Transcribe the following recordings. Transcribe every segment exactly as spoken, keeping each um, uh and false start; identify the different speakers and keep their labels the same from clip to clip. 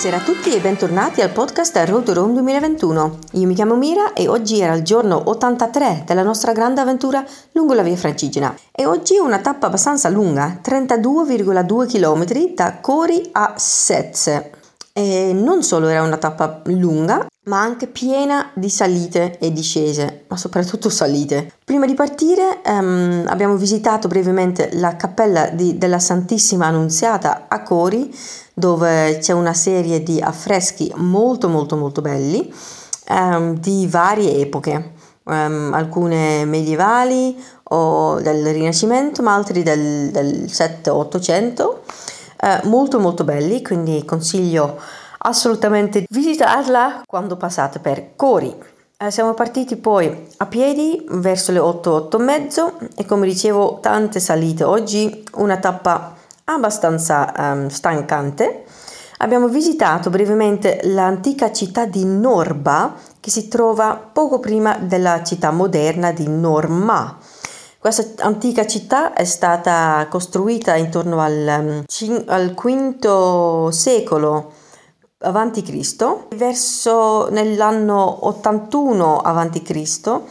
Speaker 1: Buonasera a tutti e bentornati al podcast Road to Rome duemilaventuno. Io mi chiamo Mira e oggi era il giorno ottantatré della nostra grande avventura lungo la via Francigena. E oggi una tappa abbastanza lunga, trentadue virgola due chilometri da Cori a Sezze. E non solo era una tappa lunga, ma anche piena di salite e discese, ma soprattutto salite. Prima di partire um, abbiamo visitato brevemente la cappella di, della Santissima Annunziata a Cori, dove c'è una serie di affreschi molto molto molto belli um, di varie epoche, um, alcune medievali o del Rinascimento, ma altri del, del sette ottocento. Uh, molto molto belli, quindi consiglio assolutamente visitarla quando passate per Cori. Eh, siamo partiti poi a piedi verso le otto, otto e mezzo e come dicevo tante salite. Oggi una tappa abbastanza um, stancante. Abbiamo visitato brevemente l'antica città di Norba, che si trova poco prima della città moderna di Norma. Questa antica città è stata costruita intorno al, al quinto secolo avanti Cristo. Verso nell'anno ottantuno avanti Cristo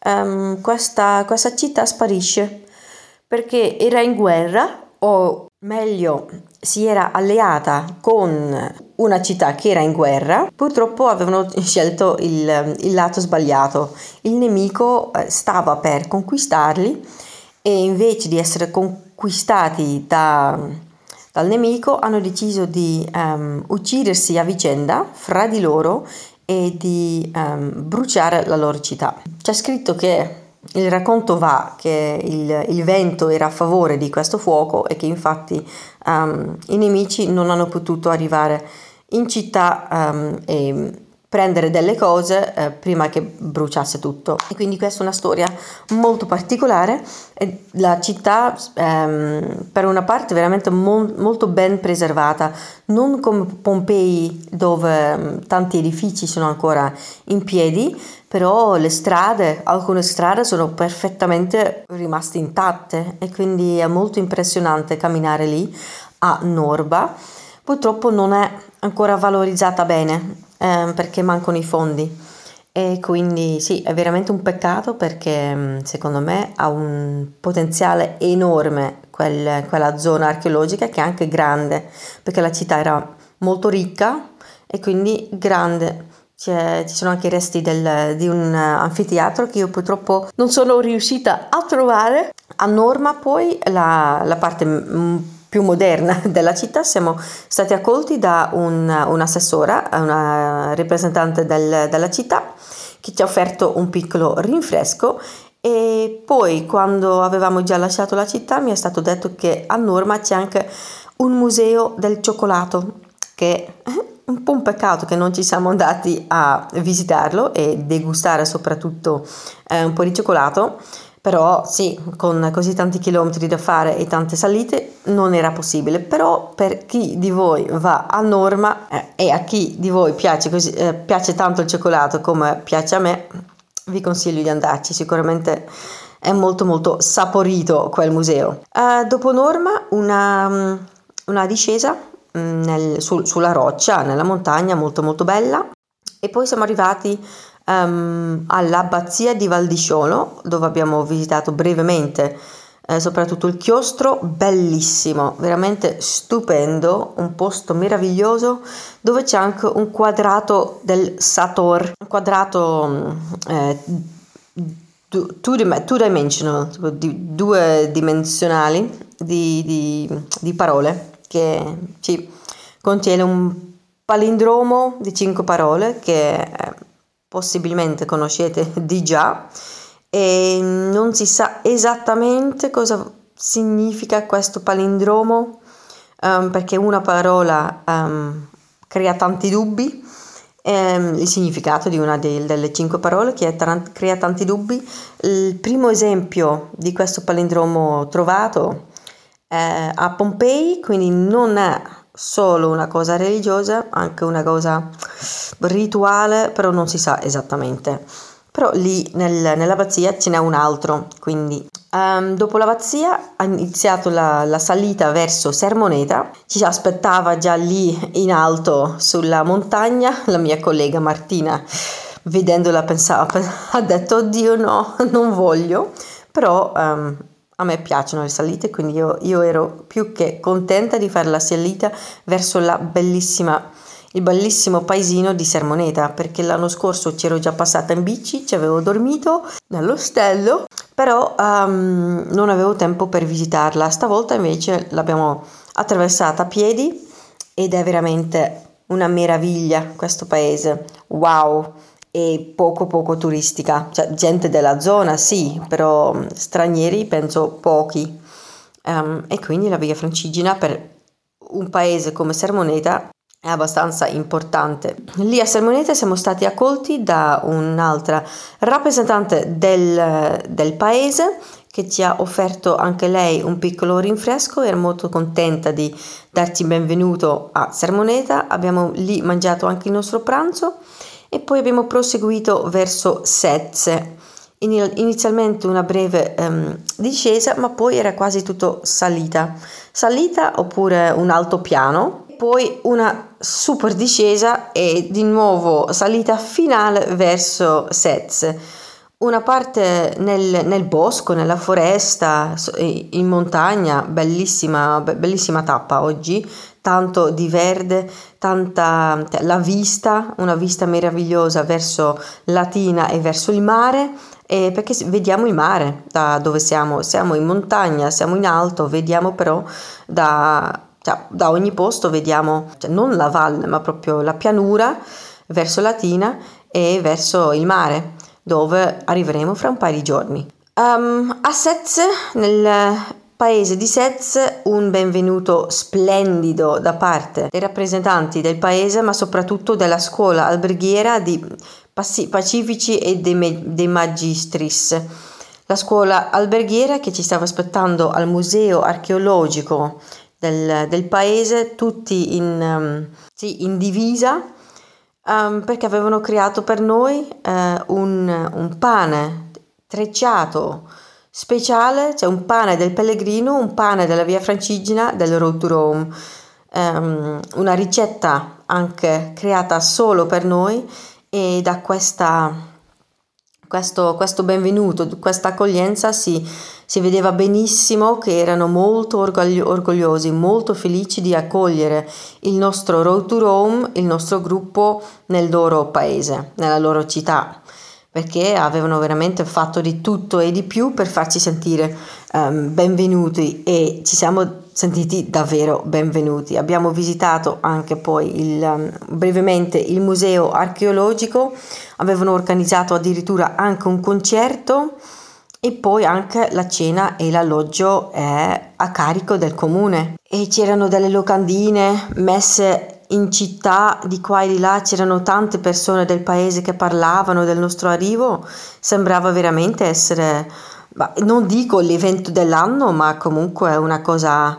Speaker 1: um, questa, questa città sparisce perché era in guerra, o meglio si era alleata con una città che era in guerra. Purtroppo avevano scelto il, il lato sbagliato. Il nemico stava per conquistarli e invece di essere conquistati da, dal nemico hanno deciso di um, uccidersi a vicenda fra di loro e di um, bruciare la loro città. C'è scritto che il racconto va che il, il vento era a favore di questo fuoco e che infatti um, i nemici non hanno potuto arrivare in città um, e prendere delle cose eh, prima che bruciasse tutto. E quindi questa è una storia molto particolare. E la città ehm, per una parte veramente mo- molto ben preservata, non come Pompei dove um, tanti edifici sono ancora in piedi, però le strade, alcune strade sono perfettamente rimaste intatte e quindi è molto impressionante camminare lì a Norba. Purtroppo non è ancora valorizzata bene eh, perché mancano i fondi e quindi sì, è veramente un peccato perché secondo me ha un potenziale enorme quel, quella zona archeologica, che è anche grande perché la città era molto ricca e quindi grande. C'è, ci sono anche i resti del, di un anfiteatro che io purtroppo non sono riuscita a trovare. A Norma poi la, la parte m- più moderna della città siamo stati accolti da un, un'assessora, una rappresentante del, della città, che ci ha offerto un piccolo rinfresco. E poi quando avevamo già lasciato la città mi è stato detto che a Norma c'è anche un museo del cioccolato, che un po' un peccato che non ci siamo andati a visitarlo e degustare soprattutto eh, un po' di cioccolato, però sì, con così tanti chilometri da fare e tante salite non era possibile. Però per chi di voi va a Norma eh, e a chi di voi piace, così, eh, piace tanto il cioccolato come piace a me, vi consiglio di andarci, sicuramente è molto molto saporito quel museo. Eh, dopo Norma una, una discesa Nel, su, sulla roccia, nella montagna molto molto bella, e poi siamo arrivati um, all'abbazia di Valdisciolo, dove abbiamo visitato brevemente eh, soprattutto il chiostro, bellissimo, veramente stupendo, un posto meraviglioso dove c'è anche un quadrato del Sator, un quadrato eh, two, two dimensional, di, due dimensionali di, di, di parole, che ci contiene un palindromo di cinque parole che eh, possibilmente conoscete di già, e non si sa esattamente cosa significa questo palindromo, um, perché una parola um, crea tanti dubbi. Um, il significato di una de- delle cinque parole che tra- crea tanti dubbi. Il primo esempio di questo palindromo trovato Eh, a Pompei, quindi non è solo una cosa religiosa, anche una cosa rituale, però non si sa esattamente. Però lì nel, nell'abbazia ce n'è un altro, quindi Um, dopo l'Abbazia ha iniziato la, la salita verso Sermoneta. Ci aspettava già lì in alto sulla montagna la mia collega Martina. Vedendola pensava, ha detto oddio no, non voglio, però um, a me piacciono le salite, quindi io, io ero più che contenta di fare la salita verso la bellissima, il bellissimo paesino di Sermoneta, perché l'anno scorso c'ero già passata in bici, ci avevo dormito nell'ostello, però um, non avevo tempo per visitarla. Stavolta invece l'abbiamo attraversata a piedi ed è veramente una meraviglia questo paese, wow! E poco poco turistica, cioè gente della zona sì, però stranieri penso pochi, um, e quindi la Via Francigena per un paese come Sermoneta è abbastanza importante. Lì a Sermoneta siamo stati accolti da un'altra rappresentante del, del paese che ci ha offerto anche lei un piccolo rinfresco. Ero molto contenta di darci benvenuto a Sermoneta. Abbiamo lì mangiato anche il nostro pranzo e poi abbiamo proseguito verso Sezze. Inizialmente una breve um, discesa, ma poi era quasi tutto salita. Salita oppure un altopiano, poi una super discesa e di nuovo salita finale verso Sezze. Una parte nel, nel bosco, nella foresta, in montagna, bellissima, bellissima tappa oggi, tanto di verde, tanta la vista, una vista meravigliosa verso Latina e verso il mare, e perché vediamo il mare da dove siamo, siamo in montagna, siamo in alto, vediamo però da, cioè, da ogni posto vediamo, cioè non la valle ma proprio la pianura verso Latina e verso il mare, dove arriveremo fra un paio di giorni. Um, a Sezze, nel paese di Sezze, un benvenuto splendido da parte dei rappresentanti del paese, ma soprattutto della scuola alberghiera di Pacifici e dei, dei Magistris. La scuola alberghiera che ci stava aspettando al museo archeologico del, del paese, tutti in, um, sì, in divisa, Um, perché avevano creato per noi uh, un, un pane trecciato speciale, cioè un pane del pellegrino, un pane della Via Francigena, del Road to Rome, um, una ricetta anche creata solo per noi, e da questa questo, questo benvenuto, questa accoglienza si, si vedeva benissimo che erano molto orgoglio, orgogliosi, molto felici di accogliere il nostro Road to Rome, il nostro gruppo nel loro paese, nella loro città, perché avevano veramente fatto di tutto e di più per farci sentire um, benvenuti, e ci siamo sentiti davvero benvenuti. Abbiamo visitato anche poi il, um, brevemente il museo archeologico, avevano organizzato addirittura anche un concerto, e poi anche la cena e l'alloggio è a carico del comune, e c'erano delle locandine messe in città di qua e di là, c'erano tante persone del paese che parlavano del nostro arrivo. Sembrava veramente essere, non dico l'evento dell'anno, ma comunque una cosa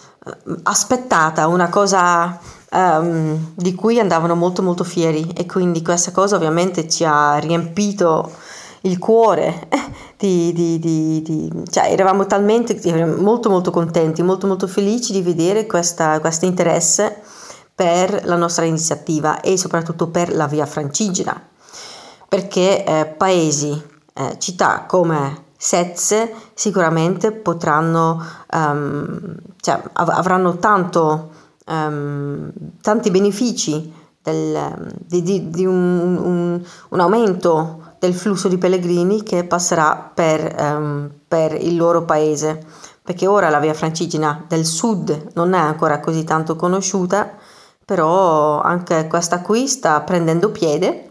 Speaker 1: aspettata, una cosa um, di cui andavano molto molto fieri, e quindi questa cosa ovviamente ci ha riempito il cuore. Di, di, di, di, cioè eravamo talmente molto molto contenti, molto molto felici di vedere questa, questo interesse per la nostra iniziativa e soprattutto per la Via Francigena, perché eh, paesi, eh, città come Sezze sicuramente potranno, um, cioè, av- avranno tanto, um, tanti benefici del, di, di, di un, un, un aumento del flusso di pellegrini che passerà per, um, per il loro paese, perché ora la Via Francigena del sud non è ancora così tanto conosciuta, però anche questa qui sta prendendo piede,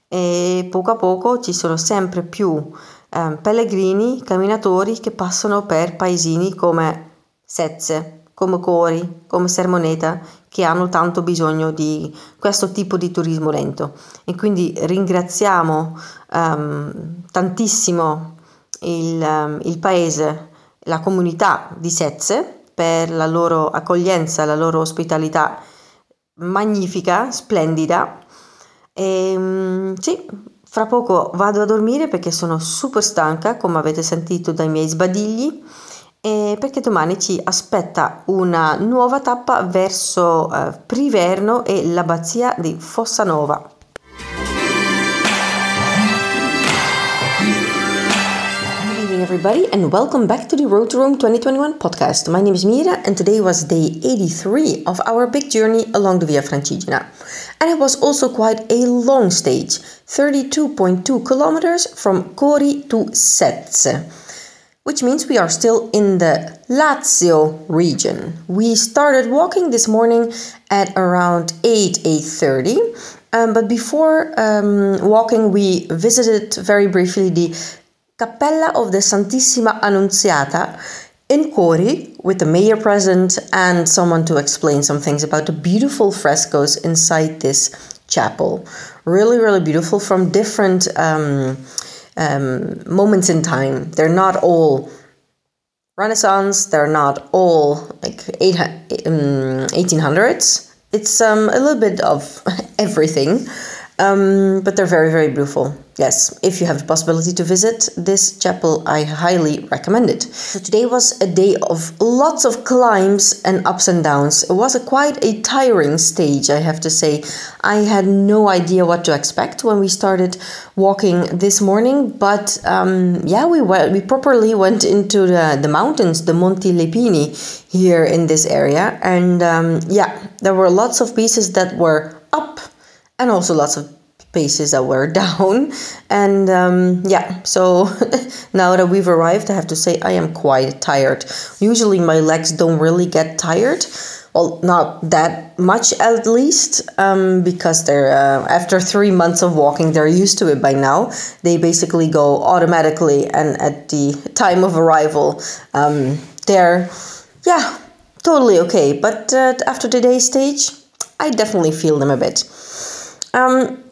Speaker 1: e poco a poco ci sono sempre più eh, pellegrini, camminatori che passano per paesini come Sezze, come Cori, come Sermoneta, che hanno tanto bisogno di questo tipo di turismo lento. E quindi ringraziamo um, tantissimo il, um, il paese, la comunità di Sezze per la loro accoglienza, la loro ospitalità magnifica, splendida. E, sì, fra poco vado a dormire perché sono super stanca, come avete sentito dai miei sbadigli, e perché domani ci aspetta una nuova tappa verso uh, Priverno e l'abbazia di Fossanova. Everybody, and welcome back to the Road to Rome twenty twenty-one podcast. My name is Mira, and today was day eighty-three of our big journey along the Via Francigena. And it was also quite a long stage, thirty-two point two kilometers from Cori to Sezze, which means we are still in the Lazio region. We started walking this morning at around eight, eight thirty. Um, but before um, walking, we visited very briefly the Cappella of the Santissima Annunziata in Cori, with the mayor present and someone to explain some things about the beautiful frescoes inside this chapel. Really, really beautiful from different um, um, moments in time. They're not all Renaissance, they're not all like eight, um, eighteen hundreds. It's um, a little bit of everything. Um, but they're very, very beautiful. Yes, if you have the possibility to visit this chapel, I highly recommend it. So today was a day of lots of climbs and ups and downs. It was a quite a tiring stage, I have to say. I had no idea what to expect when we started walking this morning, but um, yeah, we went, we properly went into the, the mountains, the Monti Lepini here in this area. And um, yeah, there were lots of pieces that were up, and also lots of paces that were down. And um, yeah, so now that we've arrived, I have to say I am quite tired. Usually my legs don't really get tired. Well, not that much at least, um, because they're uh, after three months of walking, they're used to it by now. They basically go automatically, and at the time of arrival, um, they're, yeah, totally okay. But uh, after today's stage, I definitely feel them a bit. Um,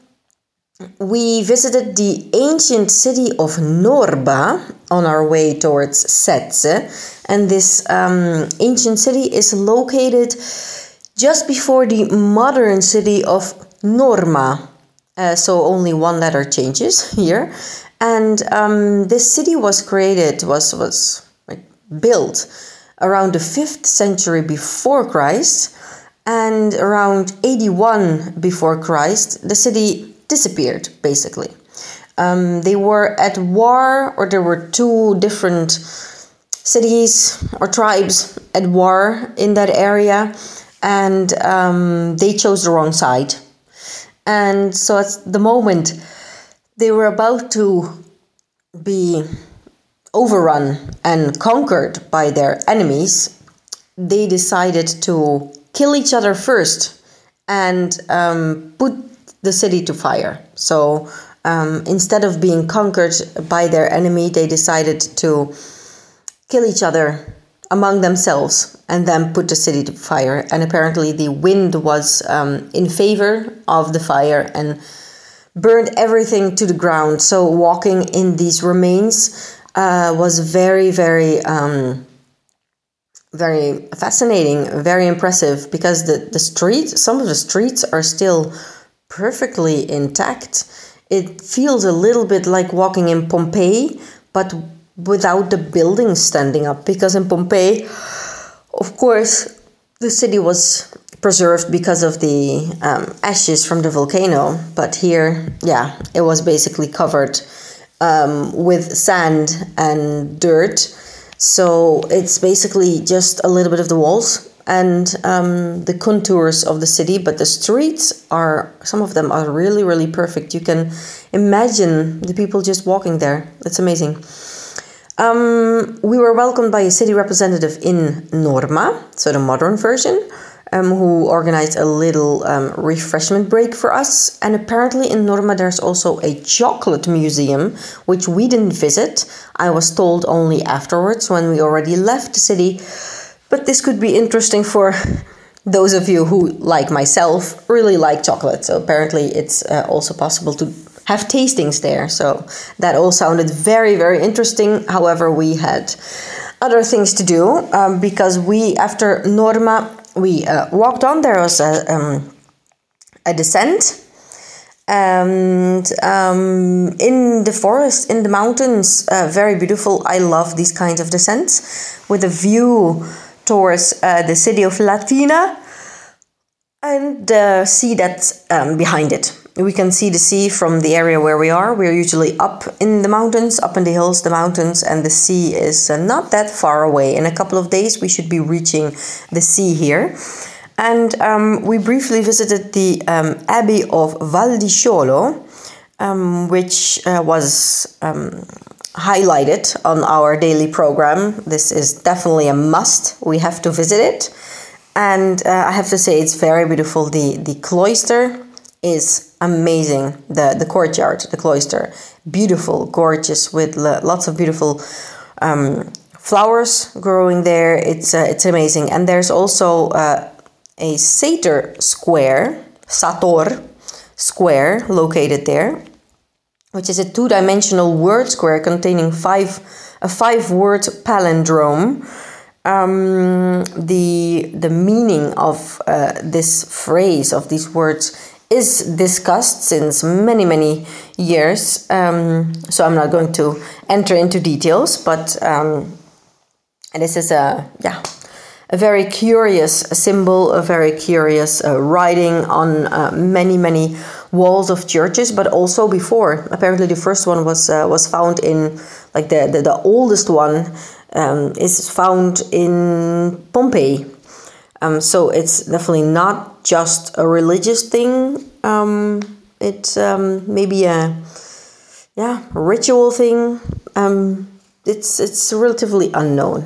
Speaker 1: we visited the ancient city of Norba on our way towards Sezze, and this um, ancient city is located just before the modern city of Norma, uh, so only one letter changes here. And um, this city was created, was, was like, built around the fifth century before Christ. And around eighty-one before Christ, the city disappeared, basically. Um, they were at war, or there were two different cities or tribes at war in that area, and um, they chose the wrong side. And so at the moment they were about to be overrun and conquered by their enemies, they decided to kill each other first and um, put the city to fire. So um, instead of being conquered by their enemy, they decided to kill each other among themselves and then put the city to fire. And apparently the wind was um, in favor of the fire and burned everything to the ground. So walking in these remains uh, was very, very... Um, very fascinating, very impressive, because the, the streets, some of the streets are still perfectly intact. It feels a little bit like walking in Pompeii, but without the buildings standing up, because in Pompeii, of course, the city was preserved because of the um, ashes from the volcano, but here, yeah, it was basically covered um, with sand and dirt. So it's basically just a little bit of the walls and um, the contours of the city, but the streets are, some of them are really, really perfect. You can imagine the people just walking there. It's amazing. Um, we were welcomed by a city representative in Norma, so the modern version, um, who organized a little um, refreshment break for us. And apparently in Norma there's also a chocolate museum, which we didn't visit. I was told only afterwards when we already left the city. But this could be interesting for those of you who, like myself, really like chocolate. So apparently it's uh, also possible to have tastings there. So that all sounded very, very interesting. However, we had other things to do um, because we, after Norma, we uh, walked on. There was a, um, a descent, And um, in the forest, in the mountains, uh, very beautiful. I love these kinds of descents with a view towards uh, the city of Latina and the sea that's um, behind it. We can see the sea from the area where we are. We're usually up in the mountains, up in the hills, the mountains, and the sea is uh, not that far away. In a couple of days, we should be reaching the sea here. And um, we briefly visited the um, Abbey of Val di Sciolo, um, which uh, was um, highlighted on our daily program. This is definitely a must. We have to visit it. And uh, I have to say it's very beautiful. The, the cloister is amazing. The, the courtyard, the cloister, beautiful, gorgeous, with l- lots of beautiful um, flowers growing there. It's, uh, it's amazing. And there's also... Uh, a satyr square, sator square, located there, which is a two-dimensional word square containing five a five-word palindrome. Um, the the meaning of uh, this phrase, of these words, is discussed since many many years. Um, so I'm not going to enter into details, but um, this is a yeah. A very curious symbol, a very curious uh, writing on uh, many, many walls of churches, but also before. Apparently, the first one was uh, was found in, like the the, the oldest one um, is found in Pompeii. Um, so it's definitely not just a religious thing. Um, it's um, maybe a yeah ritual thing. Um, it's it's relatively unknown.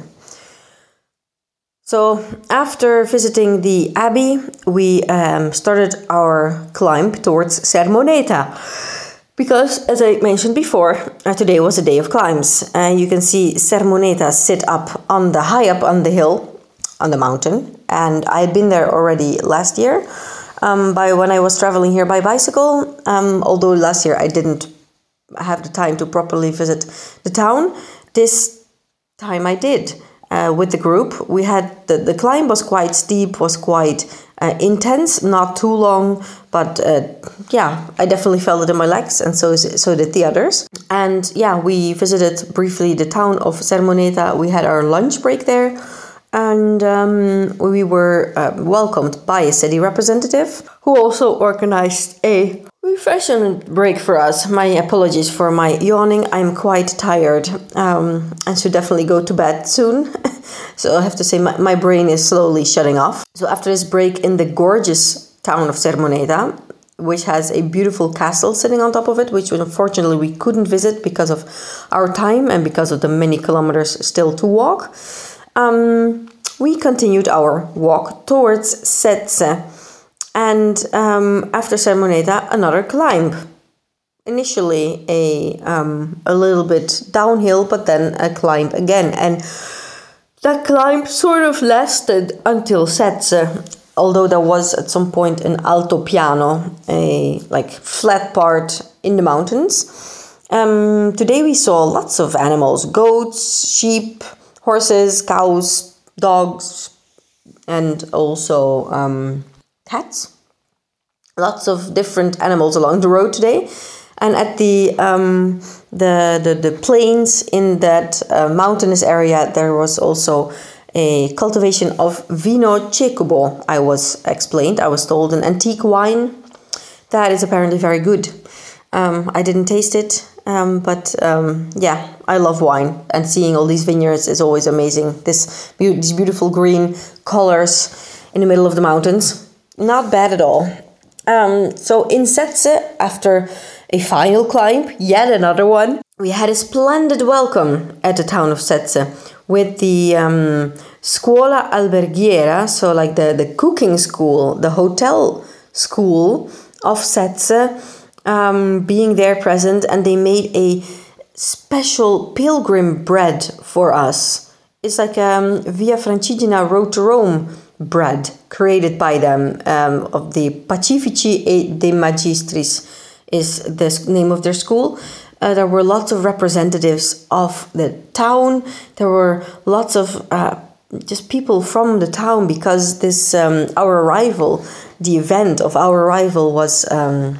Speaker 1: So after visiting the abbey, we um, started our climb towards Sermoneta, because, as I mentioned before, uh, today was a day of climbs. And uh, you can see Sermoneta sit up on the high up on the hill, on the mountain, and I had been there already last year. Um, by when I was traveling here by bicycle, um, although last year I didn't have the time to properly visit the town. This time I did. Uh, with the group, we had the, the climb was quite steep, was quite uh, intense, not too long, but uh, yeah, I definitely felt it in my legs, and so so did the others. And yeah, we visited briefly the town of Sermoneta. We had our lunch break there, and um, we were uh, welcomed by a city representative who also organized a refreshment break for us. My apologies for my yawning. I'm quite tired um, and should definitely go to bed soon. So I have to say my, my brain is slowly shutting off. So after this break in the gorgeous town of Sermoneta, which has a beautiful castle sitting on top of it, which unfortunately we couldn't visit because of our time and because of the many kilometers still to walk, um, we continued our walk towards Sezze. And um, after Sermoneta, another climb. Initially a um, a little bit downhill, but then a climb again. And that climb sort of lasted until Sezze, although there was at some point an altopiano, a like flat part in the mountains. Um, today we saw lots of animals: goats, sheep, horses, cows, dogs, and also um, cats. Lots of different animals along the road today. And at the um, the, the the plains in that uh, mountainous area, there was also a cultivation of Vino Cecobo. I was explained, I was told, an antique wine that is apparently very good. Um, I didn't taste it, um, but um, yeah, I love wine, and seeing all these vineyards is always amazing. This be- these beautiful green colors in the middle of the mountains, not bad at all. Um, so in Sezze, after a final climb, yet another one, we had a splendid welcome at the town of Sezze with the um, Scuola Alberghiera, so like the, the cooking school, the hotel school of Sezze, um, being there present, and they made a special pilgrim bread for us. It's like um, Via Francigena Road to Rome bread created by them, um, of the Pacifici e de Magistris is the name of their school. Uh, there were lots of representatives of the town. There were lots of uh, just people from the town, because this um, our arrival, the event of our arrival was um,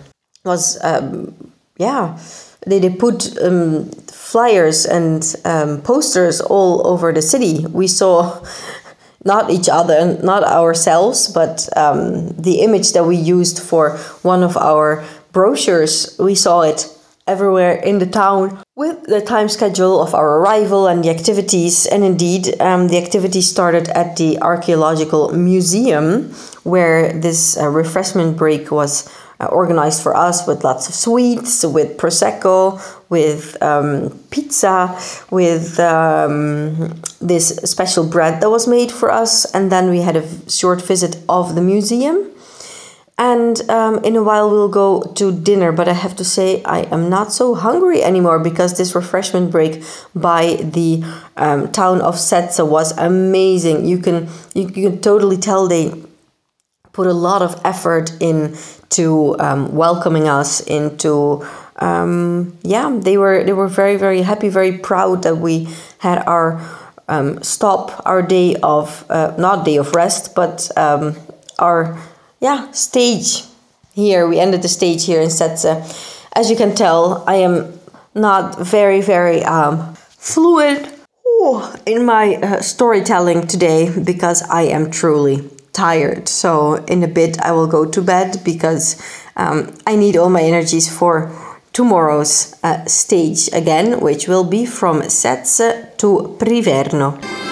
Speaker 1: was um, yeah they, they put um, flyers and um, posters all over the city. We saw not each other, not ourselves, but um, the image that we used for one of our brochures. We saw it everywhere in the town with the time schedule of our arrival and the activities. And indeed, um, the activities started at the Archaeological Museum, where this uh, refreshment break was uh, organized for us, with lots of sweets, with prosecco, with um, pizza, with um, this special bread that was made for us. And then we had a short visit of the museum. And um, in a while we'll go to dinner, but I have to say I am not so hungry anymore, because this refreshment break by the um, town of Setse was amazing. You can you, you can totally tell they put a lot of effort into um, welcoming us, into um, yeah they were they were very very happy, very proud that we had our um, stop, our day of uh, not day of rest, but um, our Yeah, stage here. We ended the stage here in Setse. As you can tell, I am not very, very um, fluid in my uh, storytelling today, because I am truly tired. So in a bit I will go to bed, because um, I need all my energies for tomorrow's uh, stage again, which will be from Setse to Priverno.